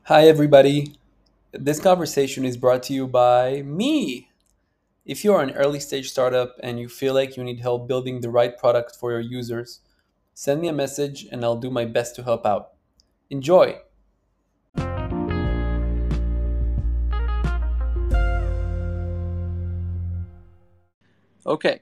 Hi, everybody. This conversation is brought to you by me. If you are an early stage startup and you feel like you need help building the right product for your users, send me a message and I'll do my best to help out. Enjoy! Okay,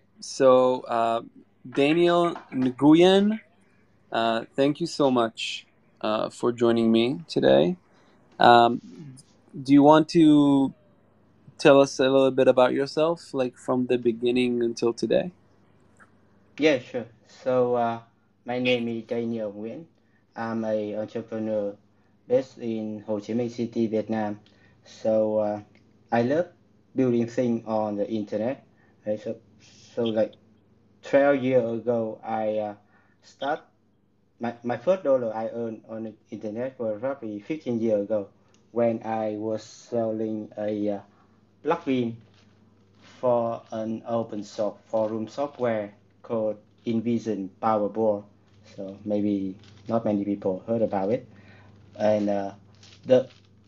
Daniel Nguyen, thank you so much for joining me today. Um, do you want to tell us a little bit about yourself, like from the beginning until today? Yeah, sure. My name is Daniel Nguyen. I'm a entrepreneur based in Ho Chi Minh City, Vietnam. So, uh, I love building things on the internet. Right? Like 12 years ago, I start my first dollar I earned on the internet was roughly 15 years ago when I was selling a plugin for an open source forum software called InVision Powerboard. So maybe not many people heard about it. And the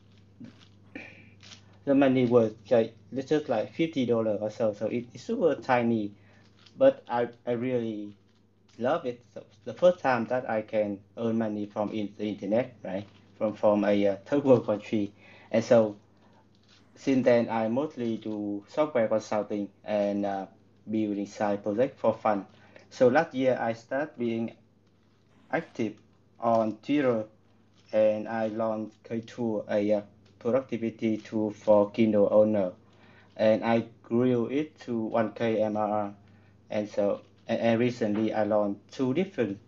the money was just like $50 or so. So it's super tiny, but I really love it. So the first time that I can earn money from the internet, right? From a third world country, and so since then, I mostly do software consulting and building side project for fun. So last year, I started being active on Twitter and I launched K2, a productivity tool for Kindle owner. And I grew it to 1K MRR. And recently, I launched two different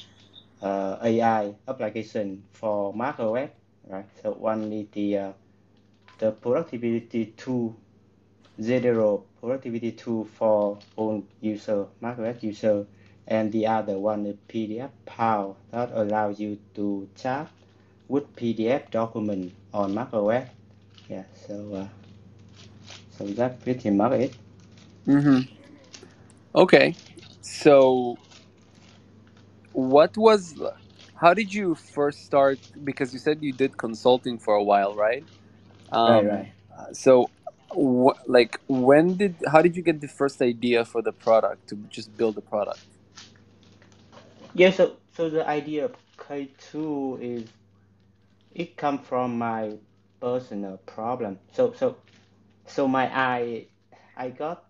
AI application for macOS, right? So one is the productivity tool Zedero productivity tool for own user, macOS user, and the other one is PDF Pal that allows you to chat with PDF document on macOS. Yeah, so that's pretty much it. Mm-hmm. Okay. So, what was, how did you first start? Because you said you did consulting for a while, right? Right, right. So, how did you get the first idea for the product to just build the product? Yeah, so the idea of K2 is it come from my personal problem. So my eye, I got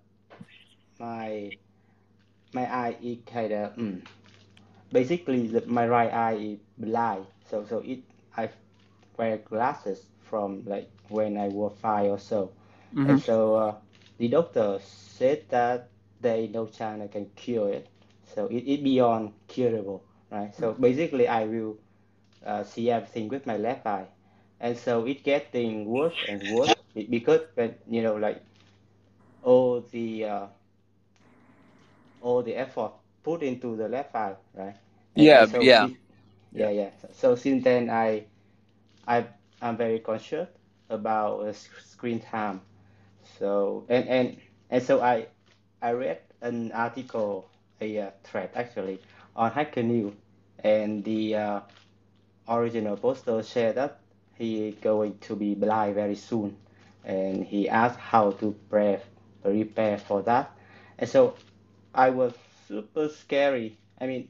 my my eye is kind of basically my right eye is blind so I wear glasses from like when I was 5 or so and Mm-hmm. the doctor said that there is no chance I can cure it, so it beyond curable, right? So basically I will see everything with my left eye, and so it getting worse and worse because when like all the uh, all the effort put into the left eye, right? And Yeah, so yeah, this, yeah. yeah. So since then, I I'm very conscious about screen time. So and so I read an article, a thread actually on Hacker News, and the original poster said that he is going to be blind very soon, and he asked how to prepare for that, and so I was super scary. I mean,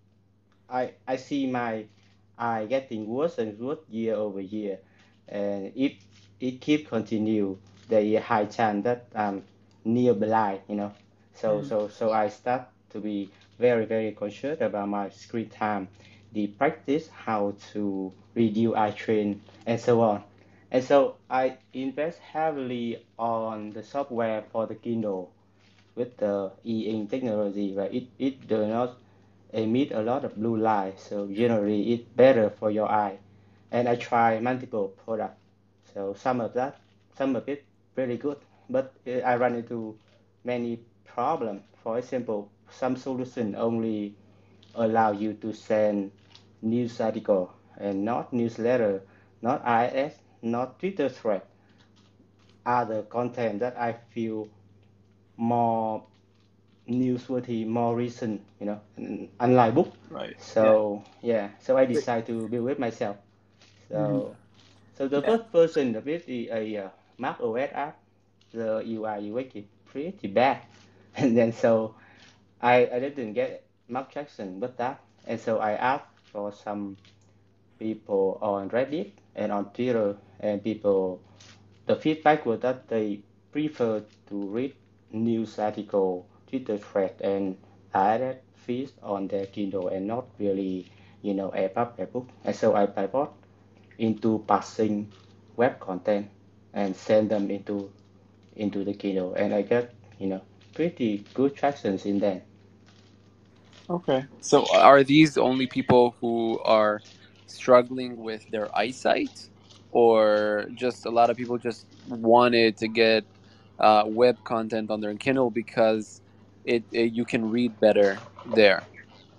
I see my eye getting worse and worse year over year, and if it keep continue, there is a high chance that I'm near blind, you know. So I start to be very conscious about my screen time, the practice how to reduce eye strain, and so on. And so I invest heavily on the software for the Kindle with the e-ink technology, where it does not emit a lot of blue light, so generally it's better for your eye. And I try multiple products, so some of it really good, but I run into many problems. For example, some solution only allow you to send news article and not newsletter, not IS, not Twitter thread, other content that I feel more newsworthy, more recent, unlike book. Right. Yeah. So yeah, so I decided to build it myself. Mm-hmm. So So the Yeah. first version of it is a Mac OS app. The UI UX is pretty bad, and then so I didn't get much traction with that, and so I asked for some people on Reddit and on Twitter, and people the feedback was that they prefer to read news article, Twitter thread, and direct feeds on their Kindle and not really, EPUB, ebook. And so I pivot into passing web content and send them into the Kindle, and I got pretty good tractions in that. Okay. So are these only people who are struggling with their eyesight, or just a lot of people just wanted to get web content on their Kindle because it you can read better there?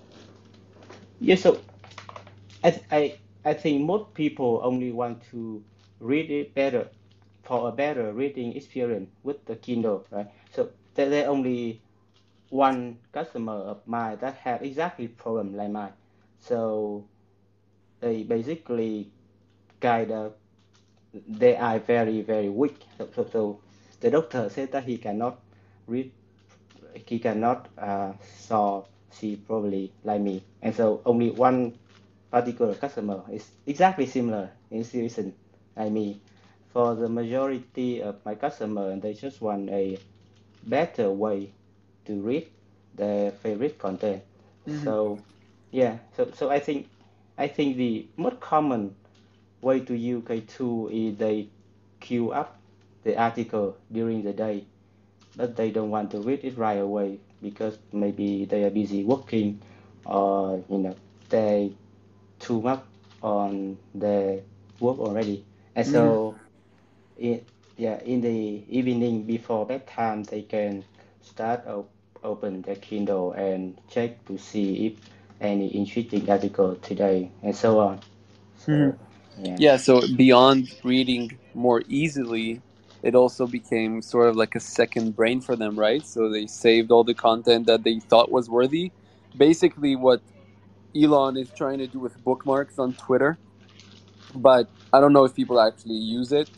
Yeah, so I, I I think most people only want to read it better for a better reading experience with the Kindle, right? So there only one customer of mine that have exactly problem like mine. So they basically kind of they are very weak. So the doctor said that read, he cannot saw see probably like me, and so only one particular customer is exactly similar in situation like me. For the majority of my customer, they just want a better way to read their favorite content. Hmm. So yeah, so I think the most common way to use K2 is they queue up the article during the day, but they don't want to read it right away because maybe they are busy working or they too much on their work already. And Hmm. so in, yeah, in the evening before bedtime, they can open their Kindle and check to see if any interesting article today and so on. Hmm. So yeah. Yeah. So beyond reading more easily, it also became sort of like a second brain for them, right? So they saved all the content that they thought was worthy. Basically, what Elon is trying to do with bookmarks on Twitter, but I don't know if people actually use it.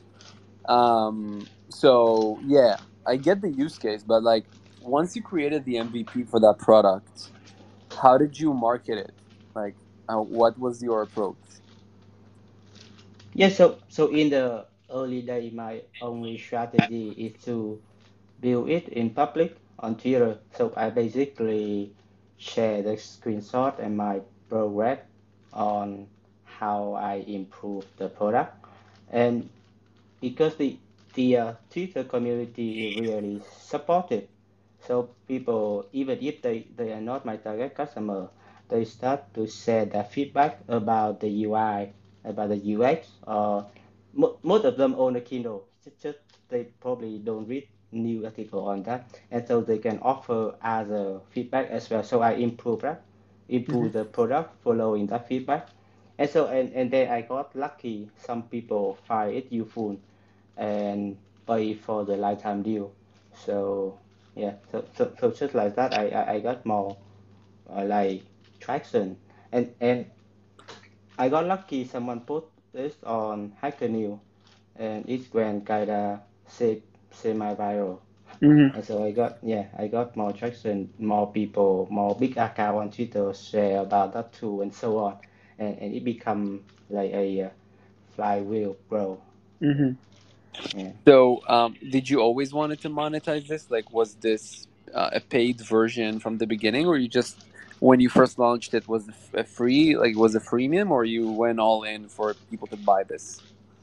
So yeah, I get the use case, but like once you created the MVP for that product, how did you market it? Like, what was your approach? Yeah, so in the early day, my only strategy is to build it in public on Twitter. So I basically share the screenshot and my progress on how I improve the product. And because the Twitter community is really supportive, so people, even if they are not my target customer, they start to share their feedback about the UI, about the UX. Most of them own a Kindle. Just they probably don't read new article on that, and so they can offer other feedback as well. So I Hmm. improve the product following that feedback. And so and then I got lucky. Some people find it useful and pay for the lifetime deal. So yeah, so just like that, I got more like traction, and I got lucky. Someone put this on Hacker News, and it went kinda semi-viral. Hmm. And so I got more traction, more people, more big account on Twitter share about that too, and so on, and it become like a flywheel, bro. Hmm. Yeah. So, did you always wanted to monetize this? Like, was this a paid version from the beginning, or you just when you first launched it was a free, like was a freemium, or you went all in for people to buy this?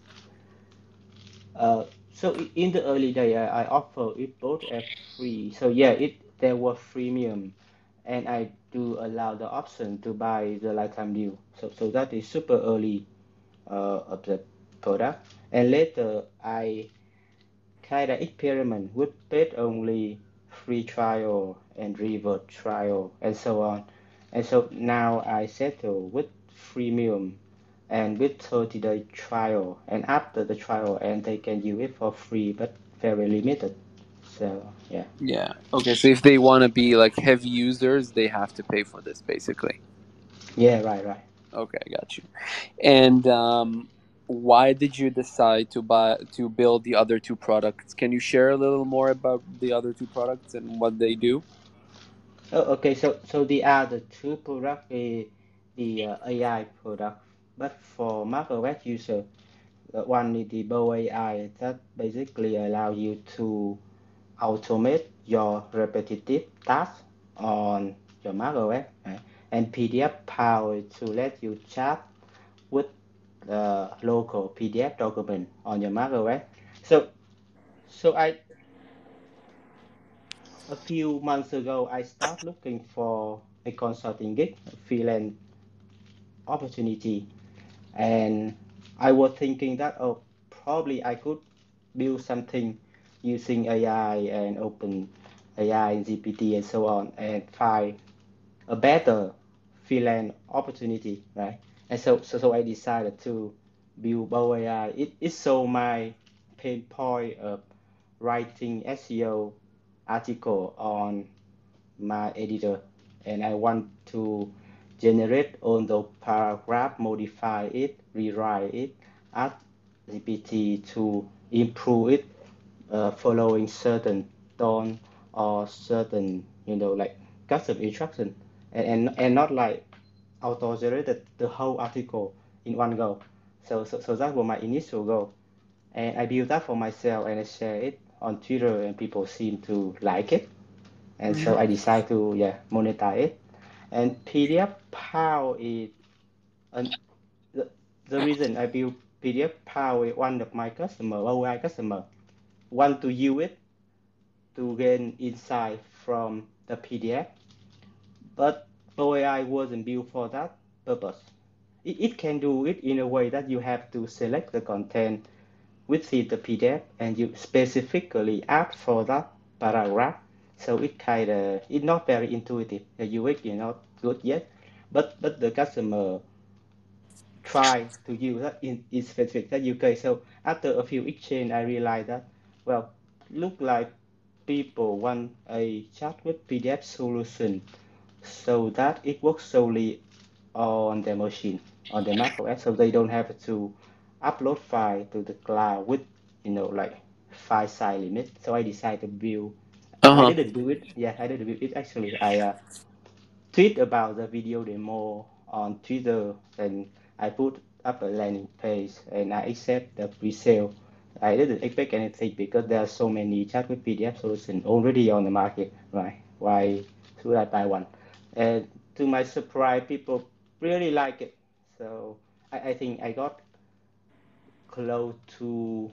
Uh, so in the early day, I offer it both as free. So yeah, it there was freemium, and I do allow the option to buy the lifetime deal. So that is super early of the product. And later I kind of experiment with paid only, free trial and reward trial and so on. And so now I settle with freemium and with 30-day trial, and after the trial and they can use it for free but very limited. So yeah. Yeah. Okay. So if they want to be like heavy users, they have to pay for this, basically. Yeah, right. Okay, I got you. And why did you decide to build the other two products? Can you share a little more about the other two products and what they do? Oh, okay. So the other two product is the AI product, but for macOS user, one is the Bow AI that basically allow you to automate your repetitive tasks on your macOS, right? And PDF Power to let you chat with the local PDF document on your macOS. So so a few months ago I started looking for a consulting gig, a freelance opportunity, and I was thinking that oh probably I could build something using AI and open AI, GPT, and so on, and find a better freelance opportunity, right? And so I decided to build Bow AI. It solved my pain point of writing SEO article on my editor, and I want to generate all the paragraph, modify it, rewrite it, add GPT to improve it, following certain tone or certain, like custom instruction, and not like auto generated the whole article in one go. So that was my initial goal, and I built that for myself and I share it on Twitter, and people seem to like it, and Hmm. so I decided to monetize it. And PDF Power is an, the, the reason I built PDF Power is one of my customer, OI customer, want to use it to gain insight from the PDF, but OAI wasn't built for that purpose. It can do it in a way that you have to select the content within the PDF and you specifically ask for that paragraph. So it's not very intuitive. The UX is not good yet, but the customer try to use that in specific that UK. So after a few exchange, I realized that well, look like people want a chat with PDF solution so that it works solely on their machine, on their macOS, so they don't have to upload file to the cloud with, like file size limit. So I decided to build. I Uh-huh. didn't do it. Yeah, I didn't build it actually. I tweet about the video demo on Twitter, and I put up a landing page and I accept the pre-sale. I didn't expect anything because there are so many chat with PDF solutions already on the market, right? Why should I buy one? And to my surprise, people really like it. So I think I got close to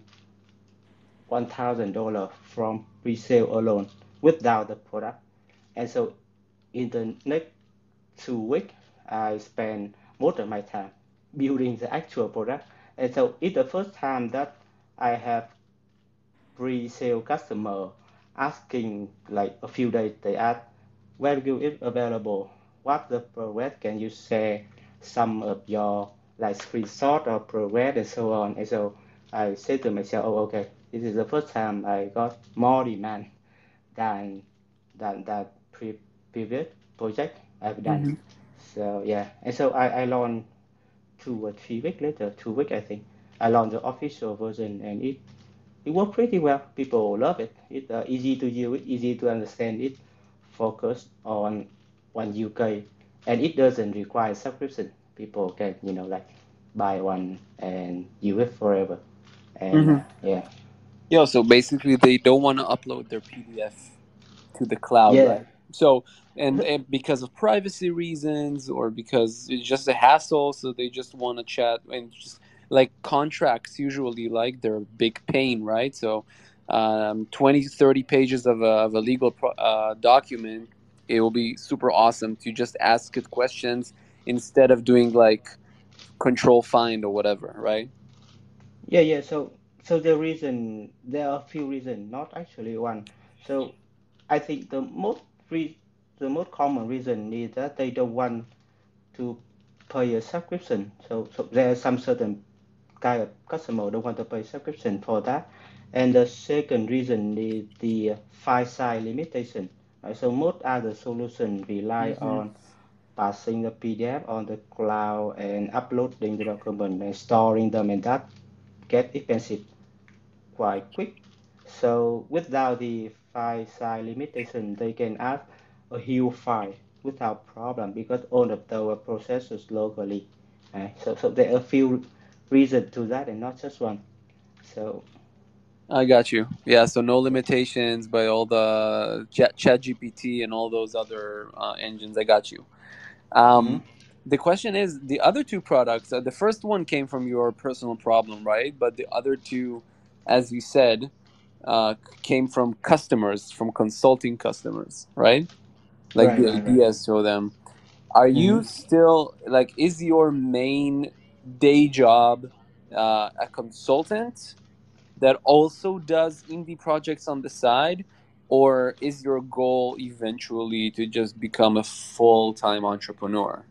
$1,000 from pre-sale alone without the product. And so in the next 2 weeks, I spend most of my time building the actual product. And so it's the first time that I have pre-sale customer asking like a few days, they ask, where will it available? What the progress? Can you share some of your like screenshot or progress and so on? And so I said to myself, oh, okay, this is the first time I got more demand than that previous project I've done. Hmm. So yeah, and so I launched 2 or 3 weeks later, 2 weeks I think, I launched the official version, and it worked pretty well. People love it. It's easy to use, it easy to understand. It focused on one UK, and it doesn't require subscription. People can like buy one and use it forever. And Hmm. yeah, Yeah, so basically they don't want to upload their PDF to the cloud, yeah. right? So, and because of privacy reasons or because it's just a hassle, so they just want to chat and just like contracts usually like they're a big pain, right? So 20 30 pages of a legal document, it will be super awesome to just ask it questions instead of doing like control find or whatever, right? Yeah. So there are a few reasons, not actually one. So I think the most common reason is that they don't want to pay a subscription. So there are some certain kind of customer don't want to pay subscription for that. And the second reason is the file size limitation. Right? So most other solutions rely Mm-hmm. on passing the PDF on the cloud and uploading the document and storing them, and that get expensive quite quick. So without the file size limitation, they can add a huge file without problem because all of the processors locally. So there are a few reasons to that and not just one. So I got you. Yeah, so no limitations by all the Chat GPT and all those other engines. I got you. mhm. The question is the other two products. The first one came from your personal problem, right? But the other two, as you said, came from customers, from consulting customers, right? Like Right, the right, right. ideas to them. Are Hmm. you still like? Is your main day job a consultant that also does indie projects on the side, or is your goal eventually to just become a full-time entrepreneur?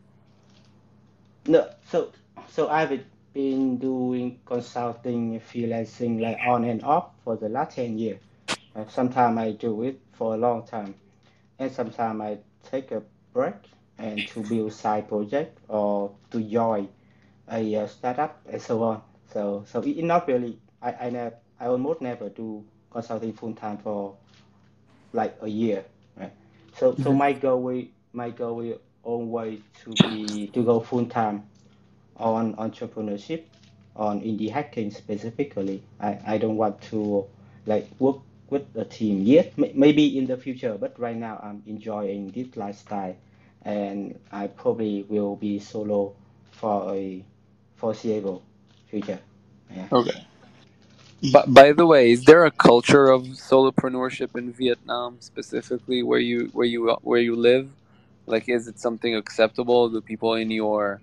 No, so I've been doing consulting, freelancing like on and off for the last 10 years. Sometimes I do it for a long time, and sometimes I take a break and to build side project or to join a startup and so on. So it not really. I almost never do consulting full time for like a year. Right? So Mhm. my goal will always to go full time on entrepreneurship, on indie hacking specifically. I don't want to like work with a team yet. Maybe in the future, but right now I'm enjoying this lifestyle, and I probably will be solo for a foreseeable future. Yeah. Okay. But by the way, is there a culture of solopreneurship in Vietnam specifically where you live? Like, is it something acceptable? Do people in your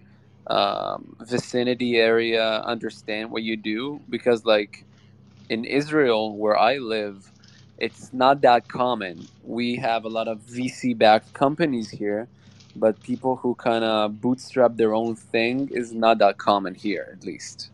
vicinity area understand what you do? Because like in Israel, where I live, it's not that common. We have a lot of VC backed companies here, but people who kind of bootstrap their own thing is not that common here, at least.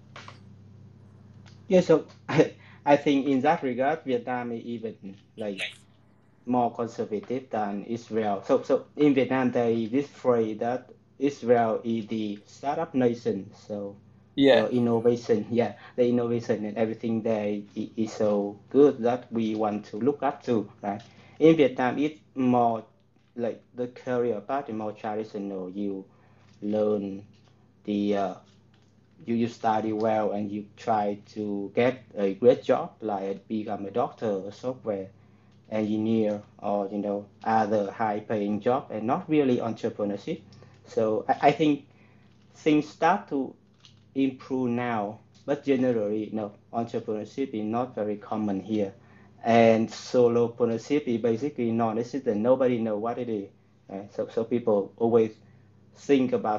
Yeah. So I think in that regard, Vietnam is even like more conservative than Israel. So in Vietnam, there is this phrase that Israel is the startup nation. So Yeah. the innovation, yeah, the innovation and everything there is so good that we want to look up to, right? In Vietnam, it's more like the career path is more traditional. You learn the you study well and you try to get a great job like become a doctor or software engineer or other high paying job and not really entrepreneurship. So I think things start to improve now, but generally no, entrepreneurship is not very common here, and solopreneurship is basically non-existent. Nobody know what it is. So people always think about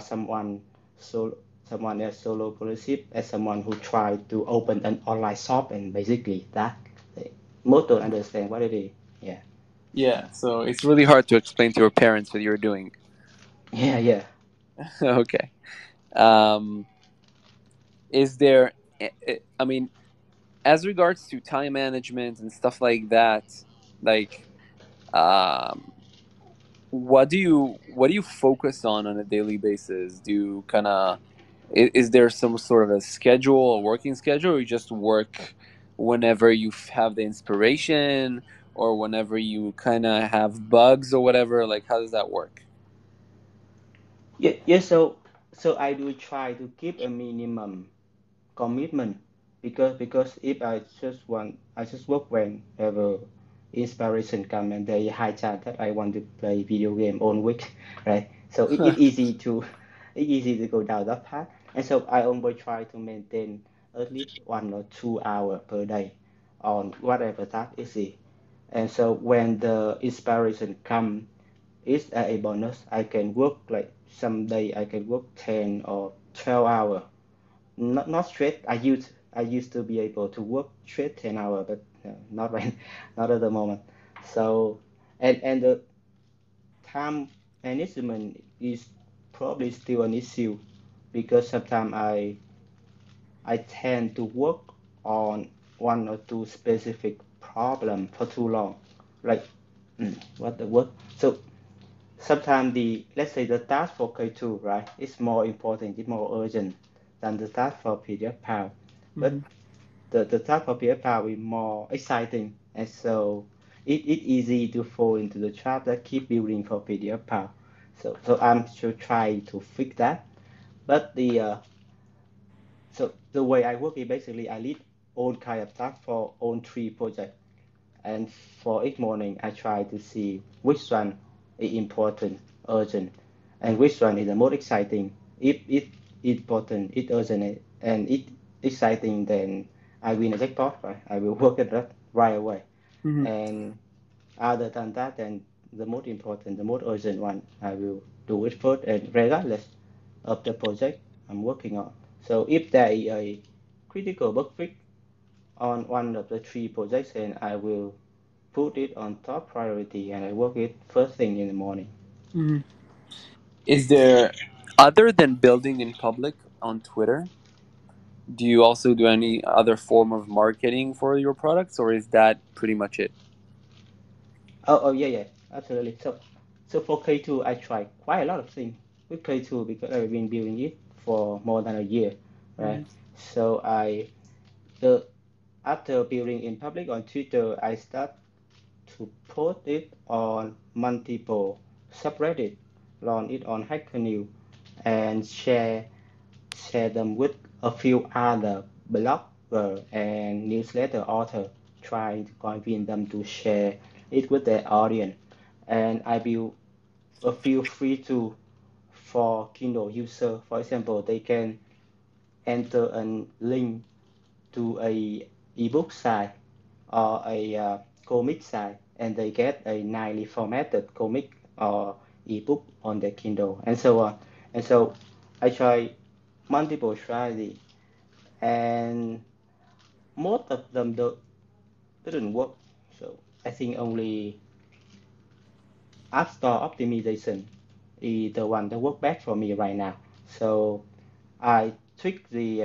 someone else solopreneurship as someone who tried to open an online shop, and basically that most don't understand what it is. Yeah. Yeah, so it's really hard to explain to your parents what you're doing. Yeah, yeah. Okay. Um, is there, I mean, as regards to time management and stuff like that, like, um, what do you focus on a daily basis? Do you kind of is there some sort of a schedule, a working schedule, or you just work whenever you have the inspiration or whenever you kind of have bugs or whatever? Like, how does that work? Yeah, yeah. So I do try to keep a minimum commitment because if I just work whenever inspiration come, and there is high chance that I want to play video game all week, right? So it easy to it easy to go down that path, and so I always try to maintain at least 1 or 2 hours per day on whatever task is it. And so when the inspiration come, it's a bonus. I can work like someday I can work 10 or 12 hours, not straight. I used to be able to work straight 10 hours, but not right, not at the moment. So and the time management is probably still an issue because sometimes I tend to work on one or two specific problem for too long, like what the work. So sometimes the, let's say the task for K2, right, is more important, it's more urgent than the task for PDF Hmm. but the task for PDF is more exciting, and so it easy to fall into the trap that keep building for PDF. So I'm still trying to fix that. But the way I work is basically I lead all kind of tasks for all three projects, and for each morning I try to see which one is important, urgent, and which one is the most exciting. If it important, it urgent, and it exciting, then I win a jackpot, right? I will work it right away. Hmm. And other than that, then the most important, the most urgent one, I will do it first, and regardless of the project I'm working on. So if there is a critical bug fix on one of the three projects, and I will put it on top priority and I work it first thing in the morning. Hmm. Is there, other than building in public on Twitter, do you also do any other form of marketing for your products, or is that pretty much it? Oh yeah, yeah, absolutely. So for K2, I tried quite a lot of things with K2 because I've been building it for more than a year, right? Hmm. So the after building in public on Twitter, I start to post it on multiple subreddit, launch it on Hacker News, and share them with a few other blogger and newsletter author, trying to convince them to share it with their audience. And I built a few free tools for Kindle user. For example, they can enter a link to a ebook site or a comic site, and they get a nicely formatted comic or ebook on their Kindle, and so on. And so I try multiple strategy, and most of them didn't work. So I think only App Store optimization is the one that work best for me right now. So I tweak the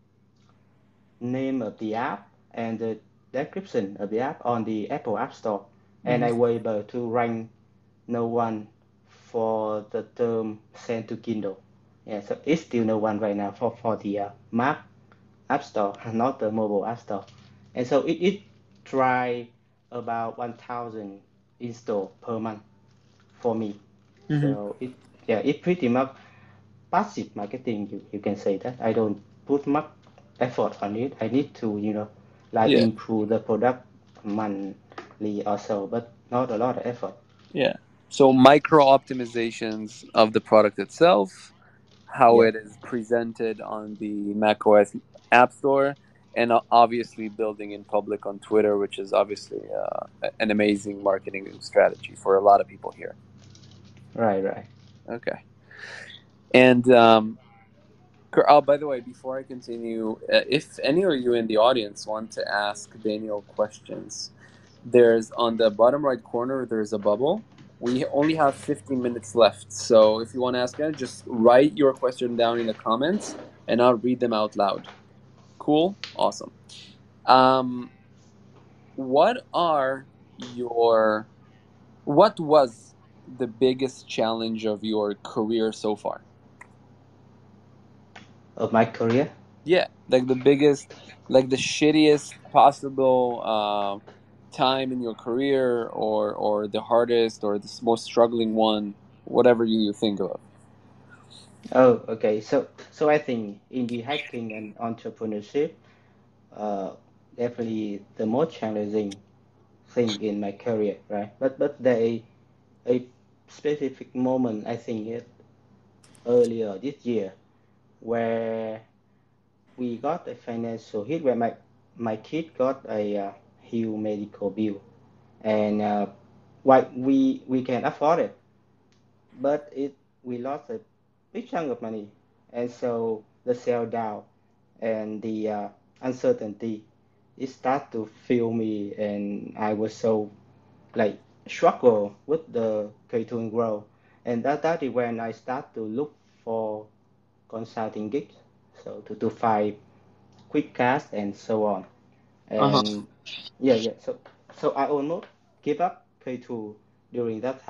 name of the app and the description of the app on the Apple App Store, and Hmm. I were able to rank no one for the term sent to Kindle. Yeah, so it's still no one right now for the Mac App Store, not the mobile App Store. And so it try about 1,000 install per month for me. Hmm. So it pretty much passive marketing. You can say that I don't put much effort on it. I need to like Yeah, improve the product monthly or so, but not a lot of effort. yeah. So micro optimizations of the product itself, how Yeah, it is presented on the macOS App Store, and obviously building in public on Twitter, which is obviously an amazing marketing strategy for a lot of people here. right. Okay. And oh, by the way, before I continue, if any of you in the audience want to ask Daniel questions, there's on the bottom right corner, there's a bubble. We only have 15 minutes left. So if you want to ask it, just write your question down in the comments and I'll read them out loud. Cool? Awesome. Um, what are your, what was the biggest challenge of your career so far? of my career. Yeah, like the biggest, like the shittiest possible time in your career, or the hardest, or the most struggling one, whatever you think of. Oh, okay. So I think in the hacking and entrepreneurship, uh, definitely the most challenging thing in my career, right? But there is a specific moment, I think it earlier this year, where we got a financial hit, where my kid got a huge medical bill, and what we can afford it, but it we lost a big chunk of money, and so the sell down and the uncertainty, it start to fill me, and I was so like struggle with the K2 growth, and that is when I start to look for consulting gigs, so to find quick cash and so on. Uh-huh. And yeah, so I almost give up K2 during that time.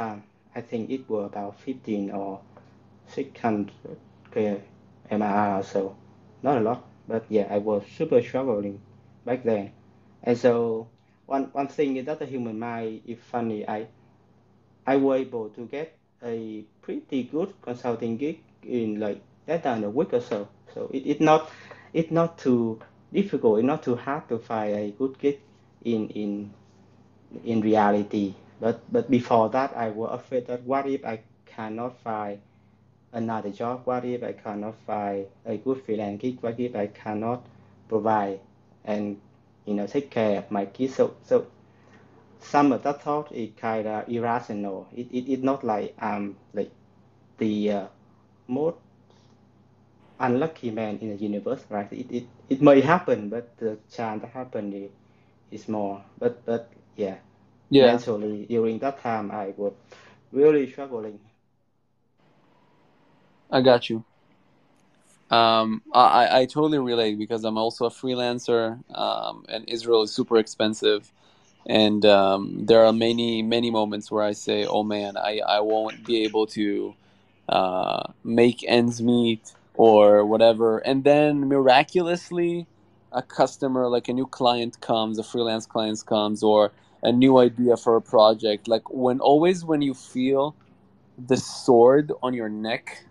I think it was about 15 or 600 MRR or so. Not a lot, but yeah, I was super struggling back then. And so one thing is that the human mind is funny. I was able to get a pretty good consulting gig in like less than a week or so. So it's not too difficult, it's not too hard to find a good gig in in in reality. But before that, I was afraid that what if I cannot find another job? What if I cannot find a good freelance gig? What if I cannot provide and take care of my kids? So some of that thought is kind of irrational. It's not like the most unlucky man in the universe, right? It may happen, but the chance that happen is more. But yeah, Yeah, mentally during that time I was really struggling. I got you. I totally relate because I'm also a freelancer, and Israel is super expensive. And there are many moments where I say, "Oh man, I won't be able to make ends meet or whatever." And then miraculously, a customer, like a new client comes, a freelance client comes, or a new idea for a project. Like when you feel the sword on your neck,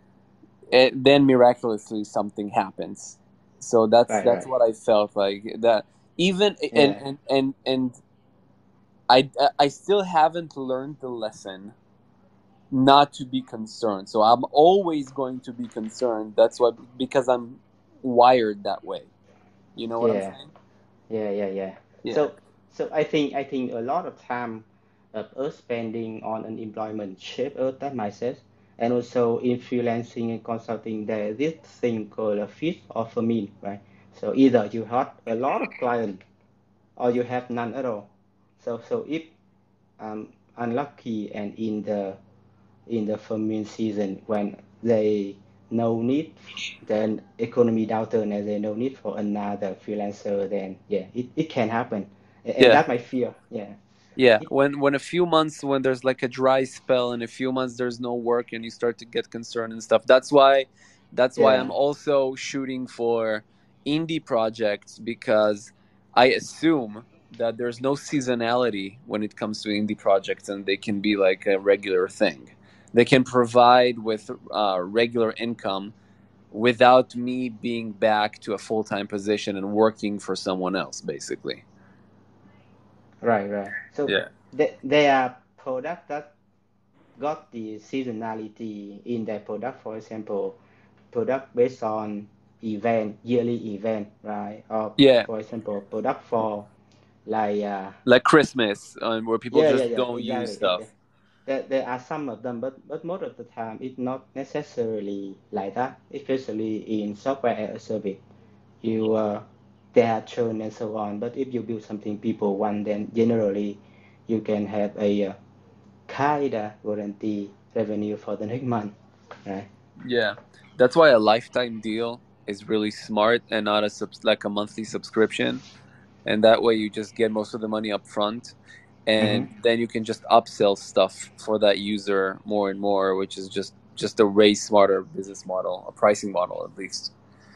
then miraculously something happens. So Right, that's right. what I felt like that. Even Yeah, and I still haven't learned the lesson not to be concerned. So I'm always going to be concerned. That's why, because I'm wired that way. You know what I'm yeah, saying? yeah. Yeah. So I think a lot of time of us spending on unemployment shape us that mindset. And also in freelancing and consulting, there is this thing called a fit or famine, right? So either you have a lot of clients or you have none at all. So if unlucky and in the famine season when they no need, then economy downturn and they no need for another freelancer, then yeah, it can happen. And Yeah. that my fear. Yeah. Yeah, It, when a few months, when there's like a dry spell and a few months there's no work and you start to get concerned and stuff. That's why yeah. I'm also shooting for indie projects, because I assume that there's no seasonality when it comes to indie projects, and they can be like a regular thing. They can provide with regular income without me being back to a full-time position and working for someone else, basically. Right. So Yeah. there are products that got the seasonality in their product. For example, product based on event, yearly event, right? Or Yeah, for example, product for like like Christmas, where people just yeah, don't use exactly. stuff. There are some of them, but most of the time it's not necessarily like that, especially in software as a service. You there are churn and so on, but if you build something people want, then generally you can have a kind of guarantee revenue for the next month, right? Yeah, that's why a lifetime deal is really smart and not like a monthly subscription. And that way, you just get most of the money up front, Mm-hmm. and then you can just upsell stuff for that user more and more, which is just a way smarter business model, a pricing model at least.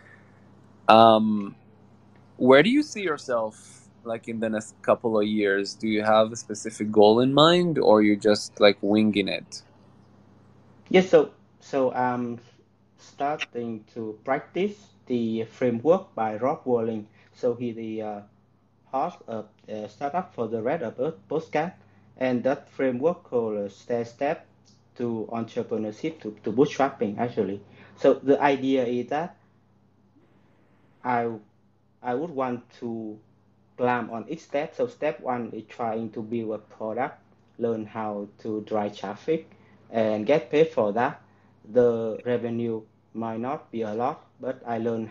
Um, where do you see yourself like in the next couple of years? Do you have a specific goal in mind, or you're just like winging it? Yes, so I'm starting to practice the framework by Rob Walling. So he the host of a startup for the Red Up podcast, and that framework called Step to Entrepreneurship to Bootstrapping actually. So the idea is that I I would want to climb on each step. So step one is trying to build a product, learn how to drive traffic, and get paid for that. The revenue might not be a lot, but I learned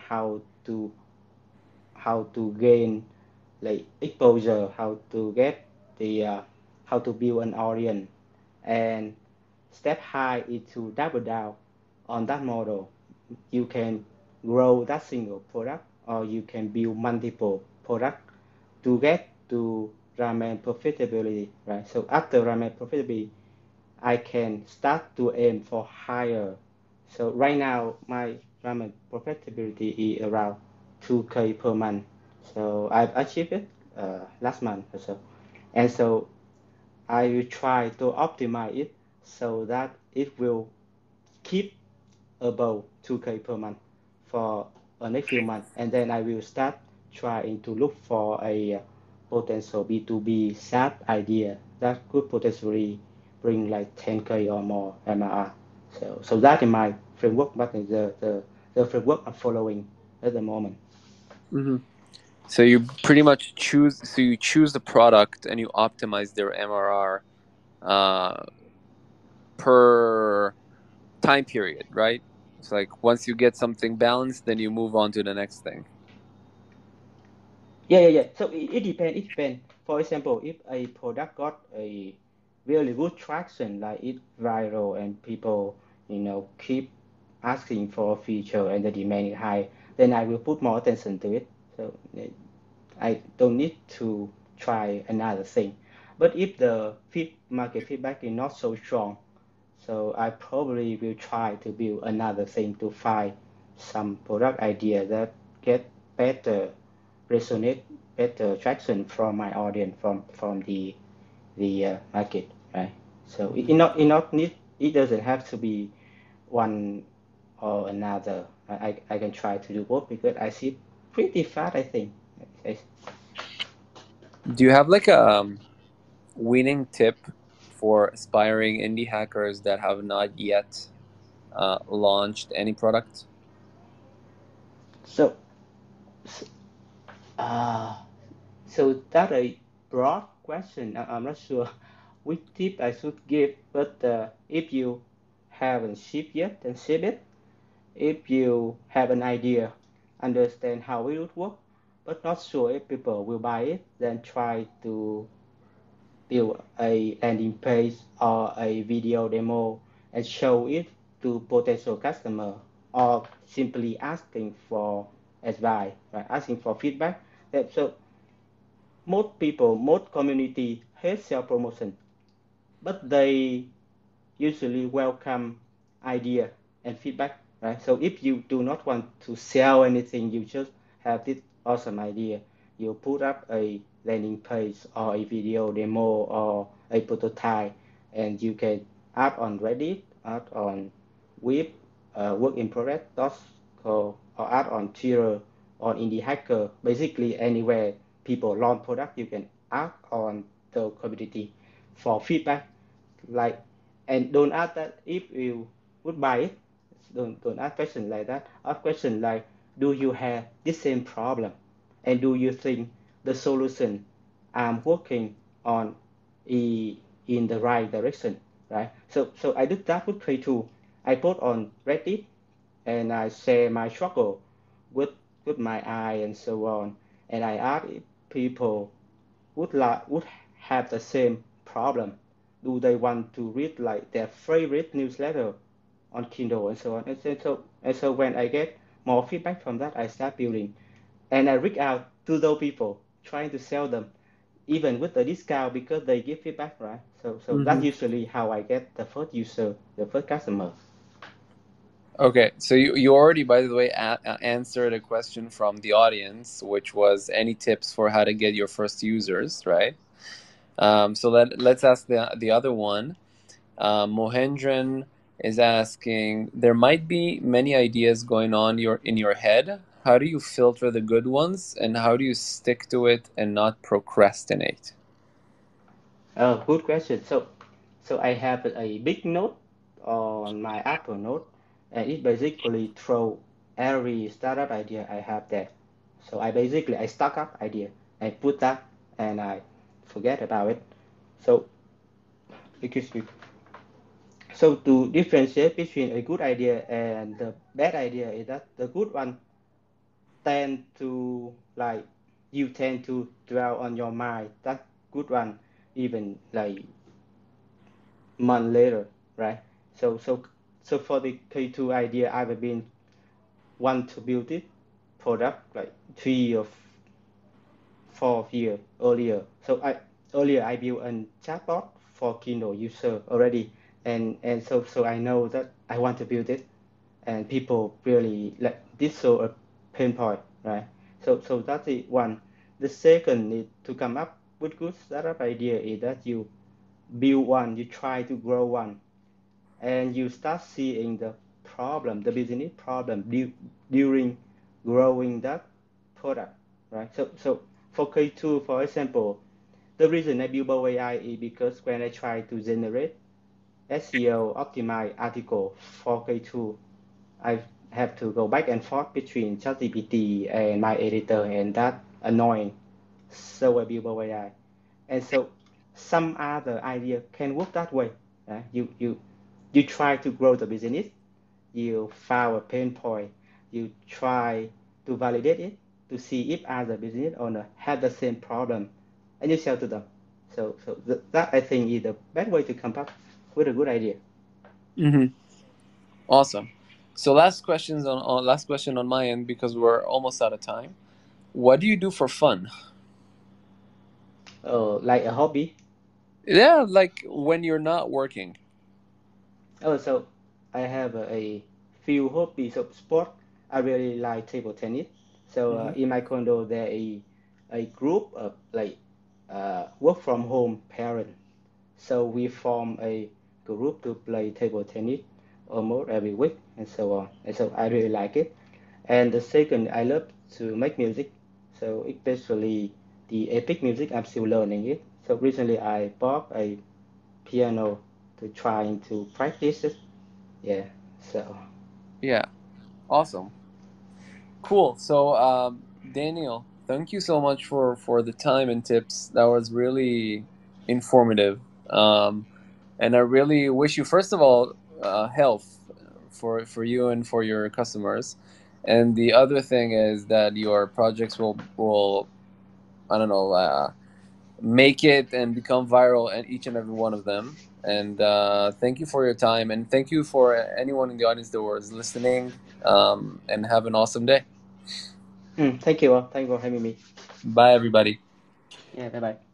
how to gain like exposure, how to get the how to build an audience, and step high is to double down on that model. You can grow that single product, or you can build multiple product to get to ramen profitability, right? So after ramen profitability, I can start to aim for higher. So right now, my profitability is around 2K per month. So I've achieved it last month or so. And so I will try to optimize it so that it will keep above 2K per month for the next few months. And then I will start trying to look for a potential B2B SaaS idea that could potentially bring like 10K or more MRR. So that is my framework, but the framework I'm following at the moment. Hmm. So you pretty much choose. So you choose the product and you optimize their MRR per time period, right? It's like once you get something balanced, then you move on to the next thing. Yeah. So it depends. It depends. For example, if a product got a really good traction, like it viral and people, keep asking for a feature and the demand is high, then I will put more attention to it. So I don't need to try another thing. But if the market feedback is not so strong, so I probably will try to build another thing to find some product idea that get better resonate, better traction from my audience, from the market, right? So Hmm. it not need, it doesn't have to be one or another. I can try to do both because I see pretty fast, I think. Do you have like a winning tip for aspiring indie hackers that have not yet launched any product? So uh, so that's a broad question. I'm not sure which tip I should give, but if you haven't shipped yet, then ship it. If you have an idea, understand how it would work, but not sure if people will buy it, then try to build a landing page or a video demo and show it to potential customer, or simply asking for advice, right? Asking for feedback. So most people, most community hate self promotion, but they usually welcome idea and feedback, right? So if you do not want to sell anything, you just have this awesome idea, you put up a landing page or a video demo or a prototype, and you can add on Reddit, add on Web, work in progress.co, or add on Twitter, on Indie Hacker, basically anywhere people launch product, you can add on the community for feedback, like, and don't ask that if you would buy it. Don't ask questions like that. Ask questions like, do you have the same problem, and do you think the solution I'm working on is in the right direction, right? So I did that with K2. I put on Reddit and I share my struggle with with my eye and so on, and I ask if people would have the same problem. Do they want to read like their favorite newsletter on Kindle and so on? And so when I get more feedback from that, I start building, and I reach out to those people trying to sell them, even with the discount because they give feedback, right? So that's Hmm. usually how I get the first user, the first customer. Okay, so you already, by the way, answered a question from the audience, which was any tips for how to get your first users, right? So let's ask the other one. Mohendran is asking, there might be many ideas going on in your head. How do you filter the good ones, and how do you stick to it and not procrastinate? Oh, good question. So I have a big note on my Apple Note, and it basically throw every startup idea I have there. So I stock up idea, I put that, and I forget about it. So excuse me. So to differentiate between a good idea and the bad idea is that the good one tend to like, you tend to dwell on your mind that good one even like month later, right? So for the K2 idea, I've been want to build it product like 3 or 4 years earlier. So I built a chatbot for Kindle user already. and so I know that I want to build it, and people really like this, so a pain point, right? So that's the one. The second is to come up with good startup idea is that you build one, you try to grow one, and you start seeing the problem, the business problem during growing that product, right? So for K2, for example, the reason I build Bow AI is because when I try to generate SEO optimized article for K2, I have to go back and forth between ChatGPT and my editor, and that annoying. So I build Bow AI. And so some other idea can work that way. Right? You try to grow the business, you found a pain point, you try to validate it to see if other business owner have the same problem, and you sell to them. So that I think is the best way to come up with a good idea. Mm-hmm. Awesome. So last question on my end because we're almost out of time. What do you do for fun? Like a hobby. Yeah, like when you're not working. So I have a few hobbies of sport. I really like table tennis. So Mm-hmm. in my condo, there is a group of like work from home parents. So we form a group to play table tennis almost every week and so on. And so I really like it. And the second, I love to make music. So especially the epic music, I'm still learning it. So recently I bought a piano to trying to practice it. Yeah. So Yeah. Awesome. Cool. So, Daniel, thank you so much for the time and tips. That was really informative. And I really wish you, first of all, health for you and for your customers. And the other thing is that your projects will I don't know make it and become viral, and each and every one of them. And thank you for your time, and thank you for anyone in the audience that was listening. And have an awesome day. thank you all. Thank you for having me. Bye, everybody. Yeah. Bye bye.